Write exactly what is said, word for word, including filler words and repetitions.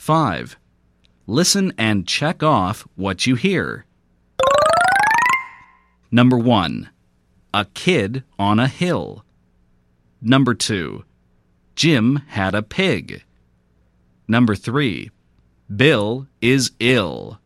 five. Listen and check off what you hear. Number one. A kid on a hill. Number two. Jim had a pig. Number three. Bill is ill.